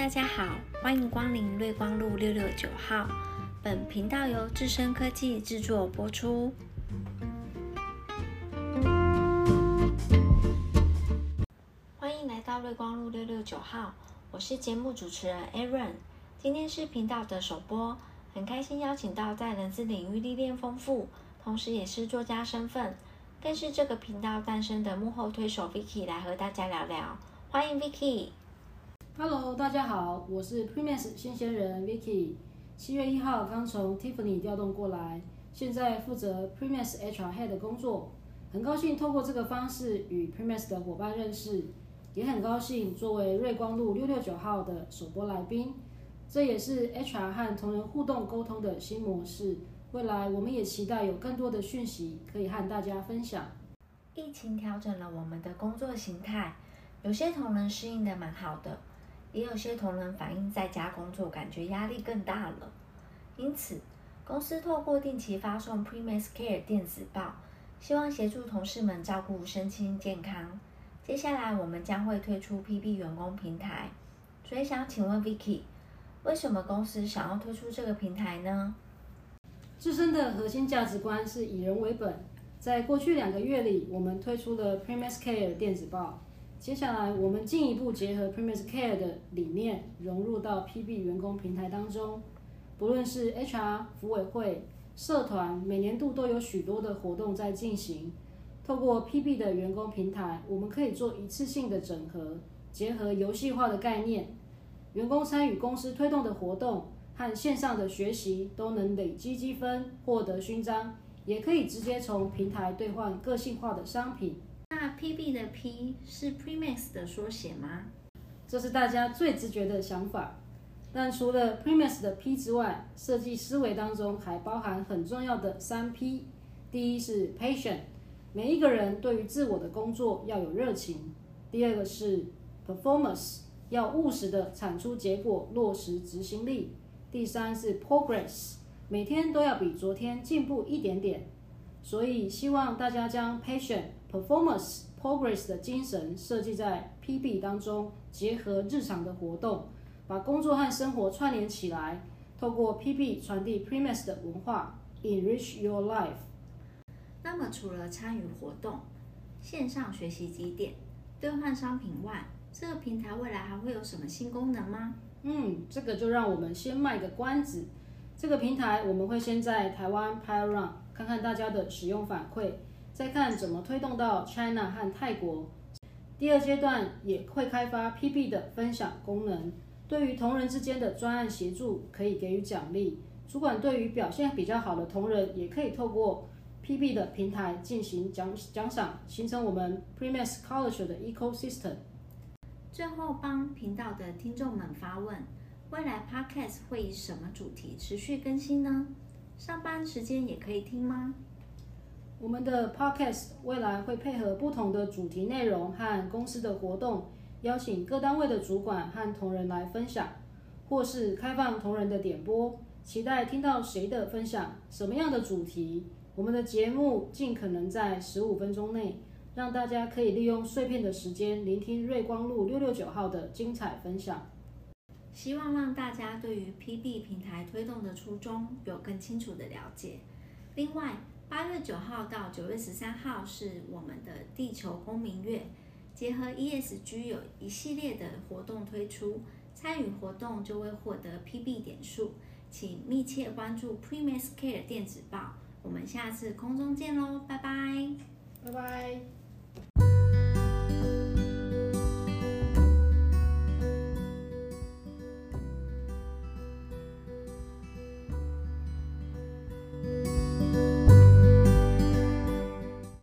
大家好，欢迎光临瑞光路669号。本频道由智深科技制作播出。欢迎来到瑞光路669号，我是节目主持人 Aaron。今天是频道的首播，很开心邀请到在人资领域历练丰富，同时也是作家身份，更是这个频道诞生的幕后推手 Vicky 来和大家聊聊。欢迎 Vicky。 Hello， 大家好，我是 Primex 新鲜人 Vicky。7月1号刚从 Tiffany 调动过来，现在负责 Primex HR Head 的工作。很高兴透过这个方式与 Primex 的伙伴认识，也很高兴作为瑞光路669号的首播来宾。这也是 HR 和同仁互动沟通的新模式。未来我们也期待有更多的讯息可以和大家分享。 疫情调整了我们的工作形态，有些同仁适应的蛮好的。也有些同仁反映在家工作感觉压力更大了，因此公司透过定期发送 Primex Care 电子报，希望协助同事们照顾身心健康。接下来我们将会推出 PB 员工平台，所以想请问 Vicky， 为什么公司想要推出这个平台呢？ 自身的核心价值观是以人为本，在过去2个月里，我们推出了 Primex Care 电子报。接下来，我们进一步结合 Primex Care 的理念，融入到 PB 员工平台当中。不论是 HR、福委会、社团，每年度都有许多的活动在进行。透过 PB 的员工平台，我们可以做一次性的整合，结合游戏化的概念，员工参与公司推动的活动和线上的学习，都能累积积分，获得勋章，也可以直接从平台兑换个性化的商品。 那 PB 的 P 是 Primex 的缩写吗？ 这是大家最直觉的想法。但除了 Primex 的 P 之外，设计思维当中还包含很重要的3P。第一是 Passion， 每一个人对于自我的工作要有热情。第二个是 Performance， 要务实的产出结果，落实执行力。第三是 Progress， 每天都要比昨天进步一点点。所以希望大家将 Passion、Performance、Progress 的精神设计在 PB 当中，结合日常的活动，把工作和生活串联起来，透过 PB 传递 Primex 的文化 ，Enrich your life。 那么除了参与活动、线上学习集点、兑换商品外，这个平台未来还会有什么新功能吗？ 这个就让我们先卖个关子。这个平台我们会先在台湾 Pilot Run， 看看大家的使用反馈，再看怎么推动到 China 和泰国。第二阶段也会开发 PB 的分享功能，对于同仁之间的专案协助可以给予奖励。主管对于表现比较好的同仁，也可以透过 PB 的平台进行奖赏，形成我们 Primex Culture 的 ecosystem。 最后帮频道的听众们发问：未来 Podcast 会以什么主题持续更新呢？上班时间也可以听吗？ 我们的 Podcast 未来会配合不同的主题内容和公司的活动，邀请各单位的主管和同仁来分享，或是开放同仁的点播，期待听到谁的分享，什么样的主题。我们的节目尽可能在15分钟内，让大家可以利用碎片的时间聆听瑞光路669号的精彩分享。 希望让大家对于 PB 平台推动的初衷有更清楚的了解。另外，8月9号到9月13号是我们的地球公民月，结合 ESG 有一系列的活动推出，参与活动就会获得 PB 点数，请密切关注 Primex Care 电子报。我们下次空中见喽，拜拜， 拜拜。